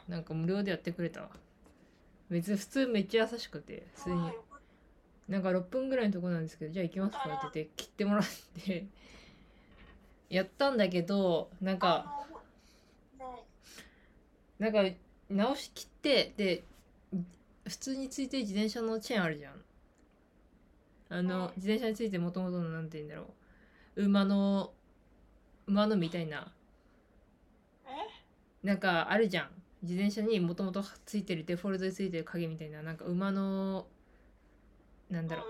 なんか無料でやってくれたわ。別に普通めっちゃ優しくて、普通になんか6分ぐらいのとこなんですけど、じゃあ行きますかって言って切ってもらってやったんだけど、なんか直し切って、で普通についてる自転車のチェーンあるじゃん。自転車についてもともとのなんて言うんだろう、馬のみたいな、なんかあるじゃん。自転車にもともとついてるデフォルトでついてる影みたいな、なんか馬のなんだろう、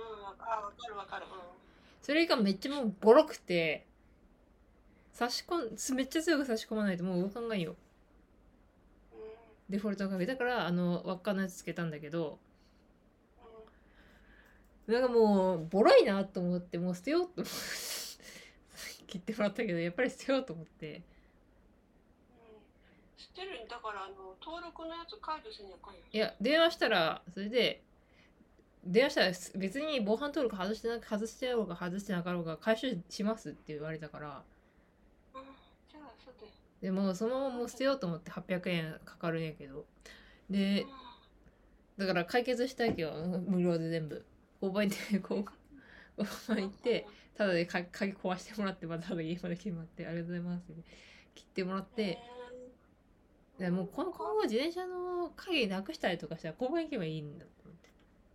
それがめっちゃもうボロくて、めっちゃ強く差し込まないともう動かんないよ。デフォルトの影だから、輪っかのやつつけたんだけど、なんかもうボロいなと思って、もう捨てようと思って切ってもらったけど、やっぱり捨てようと思って。 捨てるんだから、登録のやつ解除せにゃかんや。 いや、電話したら、それで電話したら別に防犯登録外してやろうが外してなかろうが回収しますって言われたから、 じゃあそうで。 でもそのままもう捨てようと思って。800円かかるんやけど、でだから解決したいけど、無料で全部交番行って交番行って、ただで鍵壊してもらって、またただ家まで来てもらって、ありがとうございますって切ってもらって、でもう今後自転車の鍵なくしたりとかしたら交番行けばいいんだと思って。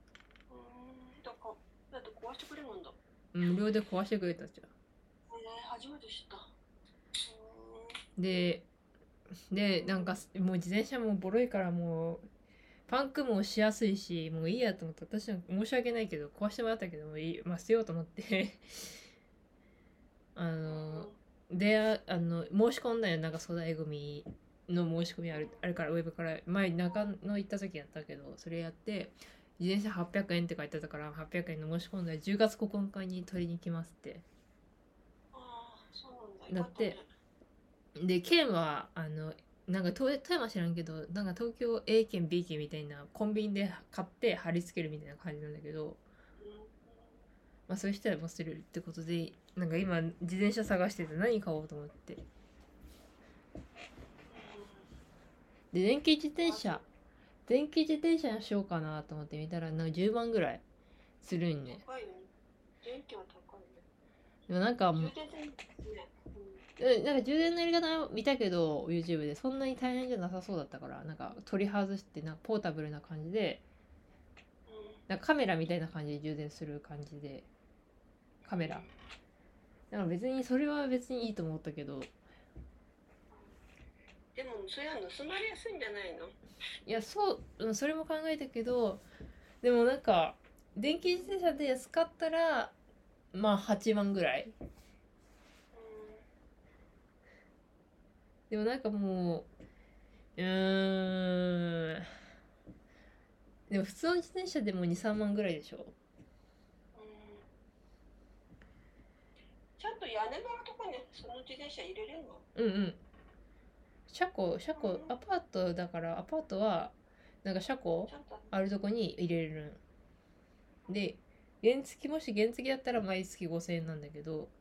だって壊してくれるんだ。 無料で壊してくれたじゃん。 初めて知った。 でなんかもう自転車もボロいから、もうパンクもしやすいし、もういいやと思って、私は申し訳ないけど壊してもらったけど、もういい、まあ捨てようと思って申し込んだよ。なんか粗大ゴミの申し込みあるから、ウェブから前中野行った時やったけど、それやって、自転車800円って書いてあったから、800円の申し込んだら10月9日に取りに来ますってなって、で県はなんか富山知らんけど、なんか東京 A 県 B 県みたいなコンビニで買って貼り付けるみたいな感じなんだけど、まあそういう人はもう捨てるってことで、なんか今自転車探してて何買おうと思って、で電気自転車にしようかなと思って見たら、なんか10万ぐらいするんね。 高いよね。電気は高いね。 でもなんかもう、 充電線ね。 なんか充電のやり方見たけど YouTube でそんなに大変じゃなさそうだったから、なんか取り外して、なんかポータブルな感じで、なんかカメラみたいな感じで充電する感じで、カメラだから別にそれは別にいいと思ったけど、 でもそれは盗まれやすいんじゃないの？ いやそれも考えたけど、でもなんか電気自転車で安かったらまあ8万ぐらい。でもなんかもうでも普通の自転車でも2、3万ぐらいでしょ。 ちゃんと屋根のとこにその自転車入れれるの？ うんうん。アパートだから、アパートはなんか車庫あるとこに入れるんで、もし原付だったら毎月5000円なんだけど、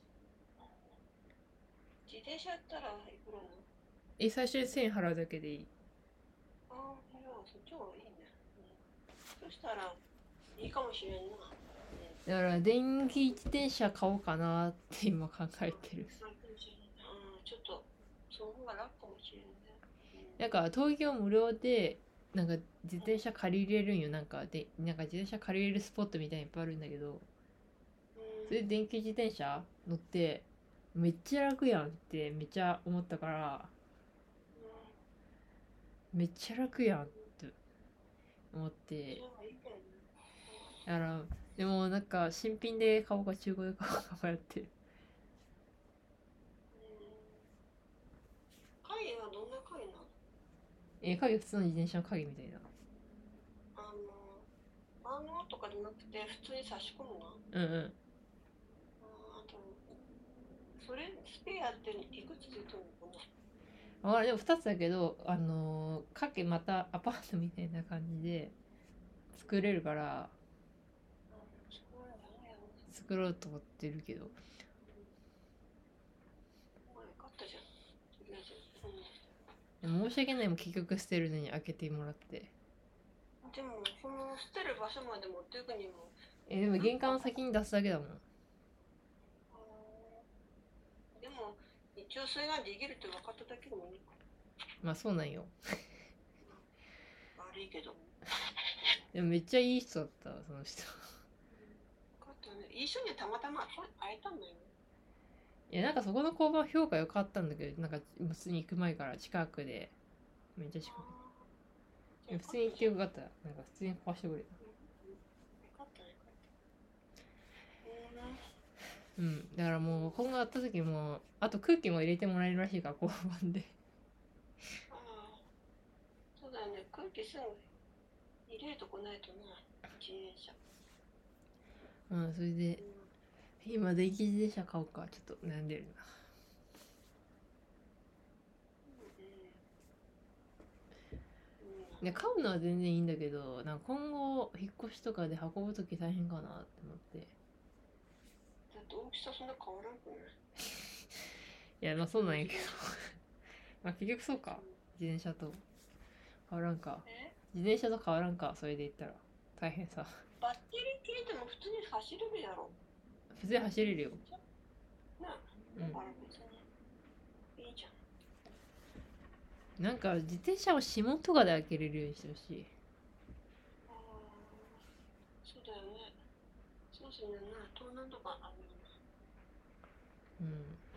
自転車やったらいくらなの？ 最初に1000円払うだけでいい。 じゃあそっちの方がいいね。そしたらいいかもしれんな。 だから電気自転車買おうかなって今考えてる。 ちょっとその方が楽かもしれんね。 なんか東京無料でなんか自転車借りれるんよ。なんか自転車借りれるスポットみたいにいっぱいあるんだけど、それで電気自転車乗ってめっちゃ楽やんってめっちゃ思ったから、めっちゃ楽やんって思って。だからでもなんか新品で買おうか中古で買おうか迷ってる。 影はどんな影なの？ 影普通の自転車の影みたいな。 万能とかじゃなくて普通に差し込むの？ うんうん。 あとそれスペアっていくつついてるのかな？ でも2つだけど、またアパートみたいな感じで作れるから、作ろうと思ってるけど。 でも申し訳ないもん結局捨てるのに開けてもらって。 でもその捨てる場所まで持っていくにも、 でも玄関の先に出すだけだもん。 でも一応それができるって分かっただけでもいいか。 まあそうなんよ。 悪いけど。 でもめっちゃいい人だったその人。 分かったね。一緒にたまたま会えたんだよね。 いやなんかそこの交番評価良かったんだけど、なんか普通に行く前から近くでめっちゃ近く。普通に行ってよかった。なんか普通に壊してくれた。うん、だからもう今後会った時もあと空気も入れてもらえるらしいから交番で。 ああ、そうだよね。空気すぐ入れるとこないとな、自転車。 それで今電気自転車買おうかちょっと悩んでるな。で買うのは全然いいんだけど、なんか今後引っ越しとかで運ぶ時大変かなって思って。 だって大きさそんな変わらんくない？ いやまあそうなんやけどまあ結局そうか、自転車と変わらんか。自転車と変わらんか、それで言ったら大変さ。 バッテリー切れても普通に走れるやろ。 普通に走れるよなあ、だから別にいいじゃん。 なんか自転車を指紋とかで開けれるようにしてほしい。 そうだよね。そうするな、盗難とかあるよな。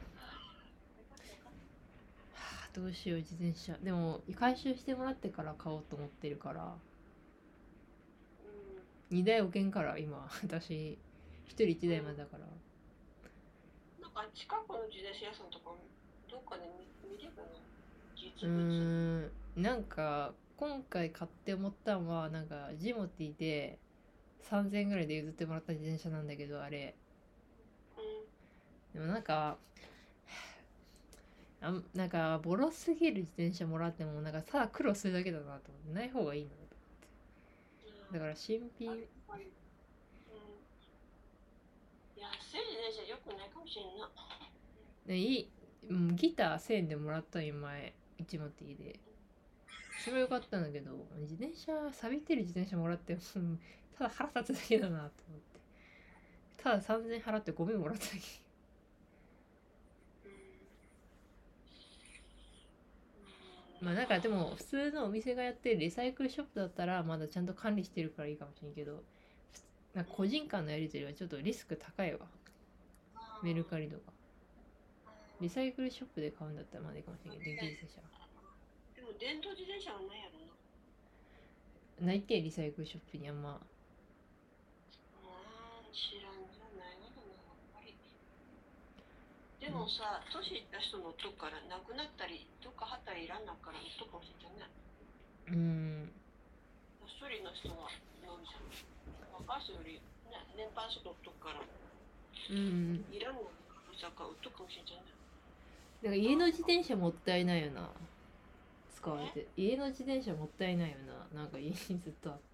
どうしよう自転車。でも回収してもらってから買おうと思ってるから、2台置けんから今私1人1台までだから。 なんか近くの自転車屋さんとかどっかで見ればな、実物。 なんか今回買って思ったのは、なんかジモティで3000円ぐらいで譲ってもらった自転車なんだけど、あれ、でもなんかなんかボロすぎる自転車もらってもなんかただ苦労するだけだなと思って、ない方がいいなと思って。だから新品、 安い自転車よくないかもしれんな。 ギター1000円でもらったんよ前、ジモティで。それはよかったんだけど、自転車錆びてる自転車もらってただ腹立つだけだなと思って、ただ3000円払ってゴミもらっただけ。まあなんかでも普通のお店がやってるリサイクルショップだったらまだちゃんと管理してるからいいかもしれんけど、なんか個人間のやり取りはちょっとリスク高いわ。メルカリとかリサイクルショップで買うんだったらまだいいかもしれんけど、電気自転車でも電動自転車はないやろな。ないけ、リサイクルショップにあんま。 知らんじゃないのかな、やっぱり。でもさ、年いった人のとこからなくなったりどっかはったりいらんなからとかもしれんね。一人の人は乗るじゃん。若い人より、ね、年配の人のとこからいらんのかか売っとくかもしれんじゃんね。 だから家の自転車もったいないよな、使われて。家の自転車もったいないよな、なんか家にずっとあって。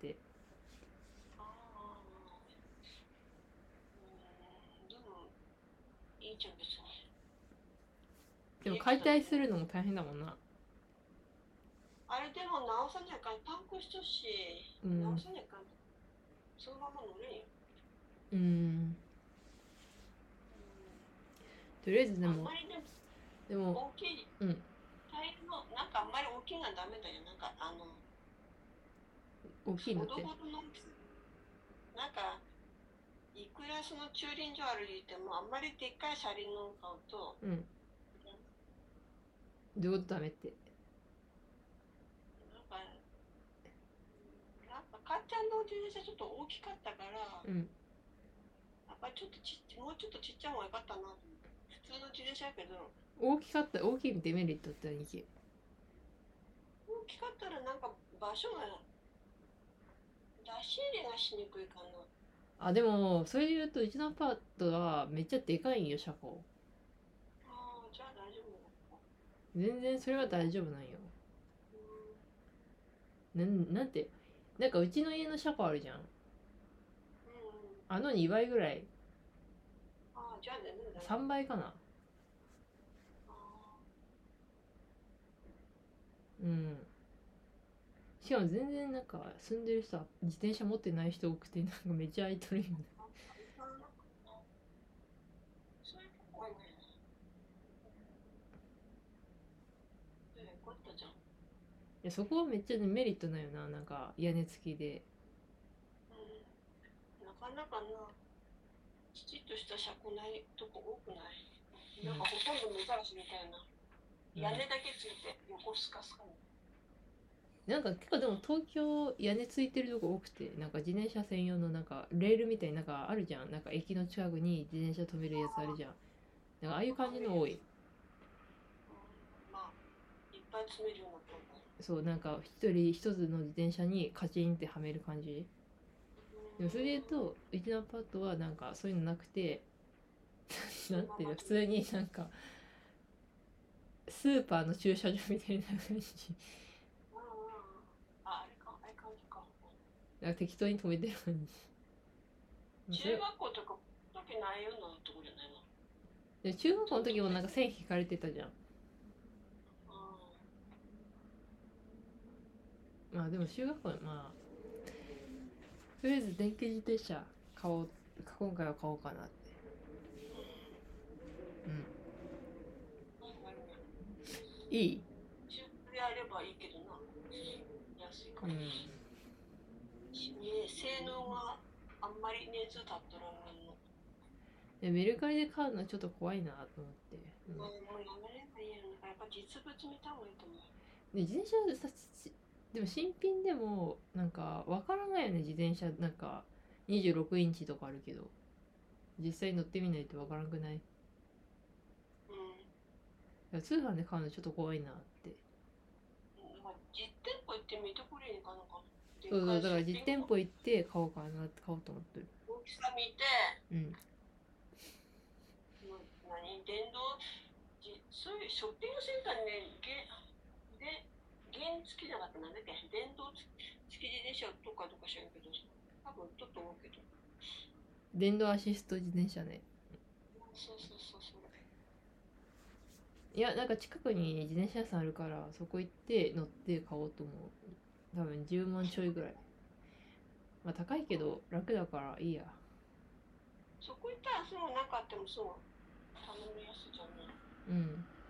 でもいいじゃん別に。 でも解体するのも大変だもんな。 あれでも直さなきゃパンクしとし、直さなきゃそのまま乗れんよ。 とりあえずでも大きい、タイヤのなんかあんまり大きいのはダメだよ。なんか大きいのってなんかいくらその駐輪場歩いてもあんまりでっかい車輪の買うと、 どういうことダメって。 なんかかっちゃんの自転車ちょっと大きかったから、やっぱりちょっともうちょっとちっちゃい方がよかったな。普通の自転車やけど。 大きいデメリットって何？大きかったらなんか場所が出し入れがしにくいかな。 あ、でもそれで言うとうちのアパートはめっちゃでかいんよ、車庫。 じゃあ大丈夫。 全然それは大丈夫なんよ。なんて、なんかうちの家の車庫あるじゃん。あの2倍ぐらい。 じゃあね、 3倍かな。 うん。しかも全然なんか住んでる人は自転車持ってない人多くてなんかめっちゃ空いとるよね。 そういうとこ多いね。こったじゃん。 いやそこはめっちゃねメリットないよな。なんか屋根付きで。 なかなかな、きちっとした車庫ないとこ多くない。なんかほとんど目ざらしみたいな。屋根だけついて横スカスカに。 なんか結構でも東京屋根ついてるとこ多くて、なんか自転車専用のなんかレールみたいななんかあるじゃん。なんか駅の近くに自転車止めるやつあるじゃん。なんかああいう感じの多い。 まあ、いっぱい詰めるようなとこ。 そうなんか一人一つの自転車にカチンってはめる感じ。でもそれで言うとうちのアパートはなんかそういうのなくてなんていうの普通になんかスーパーの駐車場みたいな感じ。 あれか、あれ感じか。 なんか適当に止めてる感じ。 中学校とか時ないようなとこじゃないの。 で中学校の時もなんか線引かれてたじゃん。まあでも中学校まあとりあえず電気自転車買おう、今回は買おうかなって。うん。いい。 中古であればいいけどな。安いから。性能があんまり熱立っとらんの。 メルカリで買うのはちょっと怖いなと思って。 もうやめればいいやん。やっぱ実物見た方がいいと思う。 で自転車さでも新品でもなんかわからないよね。自転車なんか26インチとかあるけど実際乗ってみないとわからんくない？通販で買うのちょっと怖いなって。 実店舗行って見てくれんかなか。 そうそう、だから実店舗行って買おうかなって買おうと思ってる。 大きさ見て、電動、そういうショッピングセンターにね、原付きじゃなくてなんだっけ、電動付き自転車とか知らんけど、多分ちょっと思うけど。 電動アシスト自転車ね。 そうそうそう。 いやなんか近くに自転車屋さんあるからそこ行って乗って買おうと思う。多分10万ちょいぐらい。まあ高いけど楽だからいいや。 そこ行ったらそうなかってもそう頼みやすいじゃんね。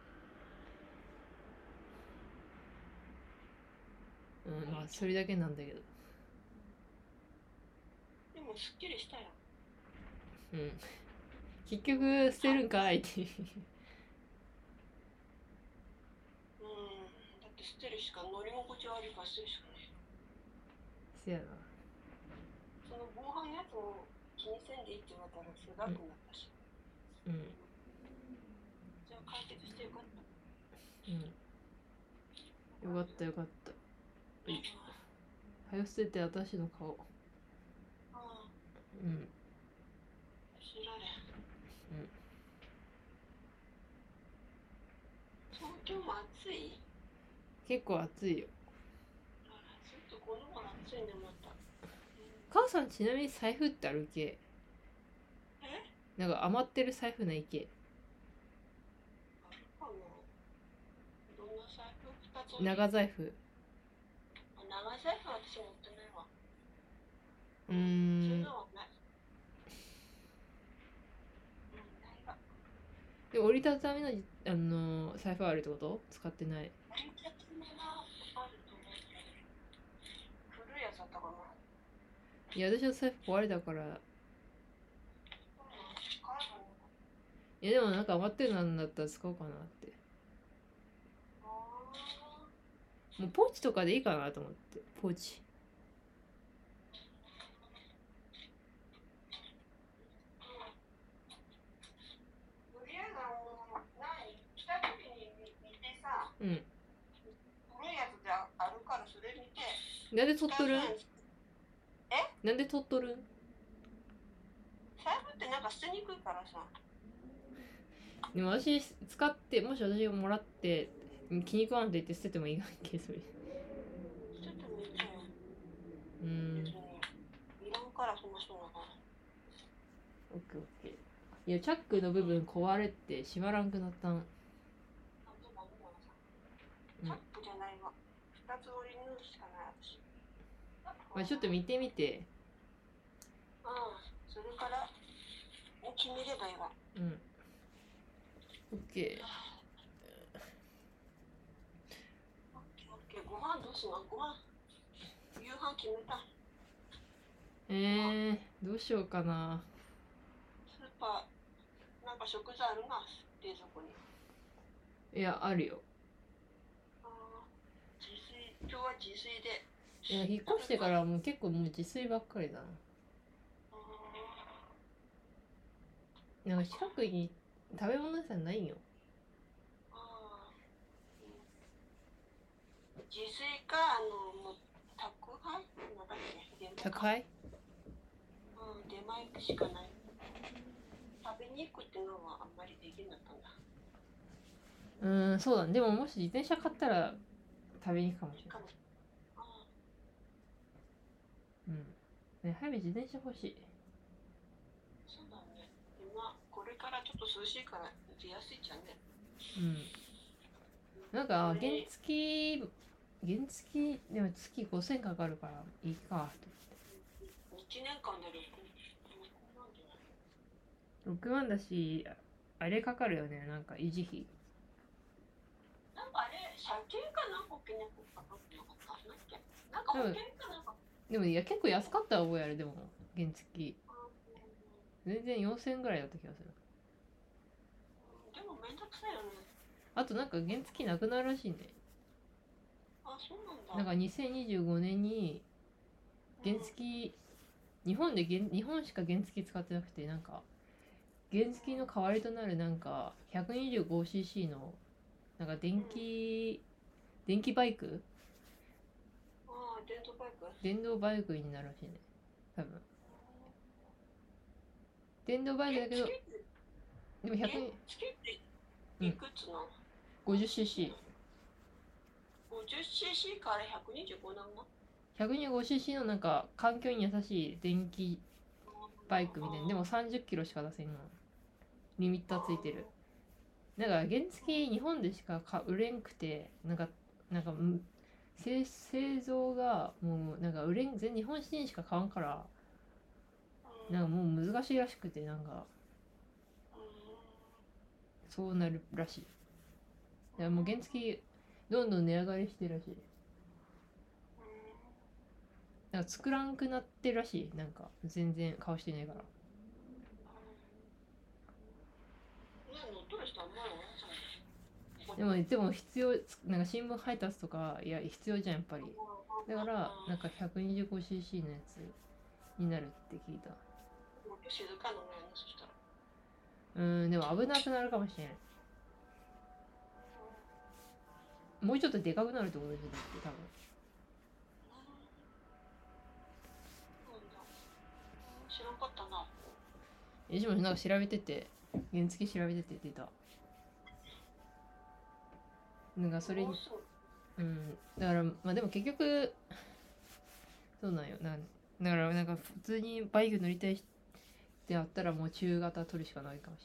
まあそれだけなんだけど。 でもすっきりしたよ。 結局捨てるんかいってだって捨てるしか、乗り心地悪いから捨てるしかない。 せやな。 その防犯のやつも気にせんでいいって言われたらすごくなったし。じゃあ解決してよかった。 よかったよかった。はよ捨てて私の顔。 知られん。東京も暑い？ 結構暑いよ。 ちょっとこの頃暑いねまた。 母さんちなみに財布ってあるけ？なんか余ってる財布ないけ？ あるかな。どんな財布？2つ。 長財布。 長財布は私持ってないわ。 そういうのはない。 で折りたたみの財布あるってこと？使ってない。 折りたたみはあると思うけど、古いやつだったかな。 いや私の財布壊れたから。いやでもなんか余ってるなんだったら使おうかなって。もうポーチとかでいいかなと思って。ポーチ。古いやつであるからそれ見て。 なんで取っとるん？なんで取っとるん？ 財布ってなんか捨てにくいからさ。 でも私使ってもし私がもらって気に食わんと言って捨ててもいいがんけそれ。 捨ててもいいじゃん。いらんからそんな人だから。 オッケーオッケー。いやチャックの部分壊れて閉まらんくなったん。 チャックじゃないわ。 二つ折り縫うしかない私。 まあ、ちょっと見てみて。 それから決めればいいわ。 うん。オッケー。 オッケー。ご飯どうすんの？ご飯。夕飯決めた。 どうしようかな。 スーパーなんか食材あるな、冷蔵庫に。 いや、あるよ。 自炊、今日は自炊で。 いや、引っ越してからもう結構もう自炊ばっかりだな。なんか近くに食べ物屋さんないよ。 自炊か、もう宅配なんだっけ？ 宅配？ 出前しかない。食べに行くっていうのはあんまりできなかったんだ。 そうだね。でももし自転車買ったら食べに行くかもしれない。ね、早く自転車欲しい。 そうだね。今これからちょっと涼しいから出やすいじゃんね。 なんか原付でも月5000かかるからいいかと。1年間で 6万だし、あれかかるよね、なんか維持費。 なんかあれ、車検かなんか保険かかってなかった？なんか保険かなんか。 でもいや、結構安かった覚えある。でも原付全然4000円ぐらいだった気がする。 でもめんどくさいよね。 あとなんか原付なくなるらしいね。 そうなんだ。 なんか2025年に原付、日本しか原付使ってなくて、なんか原付の代わりとなるなんか 125cc のなんか電気バイク、電動バイクになるらしいね、多分。電動バイクだけど、でも100、 いくつの？ 50cc。 50cc から 125なの？ 125cc のなんか環境に優しい電気バイクみたいな。でも30キロしか出せんの。リミッターついてる。なんか原付日本でしか売れんくて、なんか製造がもうなんか全日本人しか買わんから、なんかもう難しいらしくて、なんかそうなるらしい。だからもう原付どんどん値上がりしてるらしい。なんか作らんくなってるらしい。なんか全然顔してないから。でも必要、なんか新聞配達とかいや必要じゃんやっぱり。だからなんか 125cc のやつになるって聞いた。でも危なくなるかもしれない。もうちょっとでかくなるってことでしょ、だって多分。 知らんかったな。 でもなんか調べてて、原付調べてて出た。なんかそれに、だからまあでも結局そうなんよ。だからなんか普通にバイク乗りたいってあったらもう中型取るしかないかもし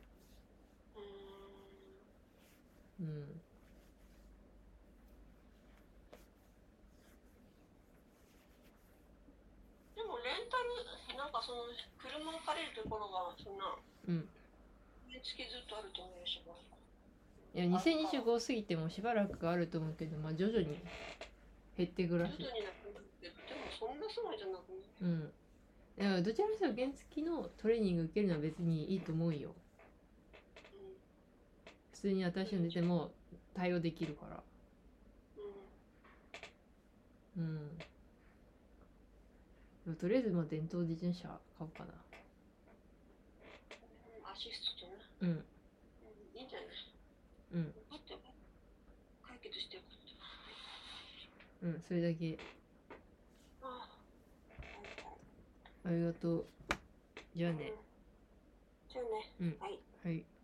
れない。 でもレンタルなんかその車を借りるところがそんな原付ずっとあると思うよしばらく。 いや2025過ぎてもしばらくあると思うけど、まあ徐々に減っていくらしい。 徐々になくなってでもそんなすごいじゃなくね。 だからどちらにしても原付のトレーニング受けるのは別にいいと思うよ。普通に新しいの出ても対応できるから。とりあえずまあ電動自転車買おうかな。 アシストとね。いいんじゃない？解決してよかった。 それだけ。ありがとう。じゃあね。 はい。 はい。